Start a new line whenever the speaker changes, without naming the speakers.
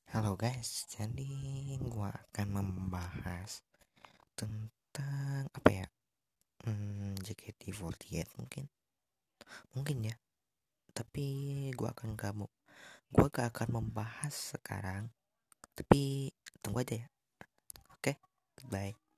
Halo guys, jadi gua akan membahas tentang apa ya? JKT48 mungkin ya. Tapi gua gak akan membahas sekarang. Tapi tunggu aja ya. Oke, goodbye.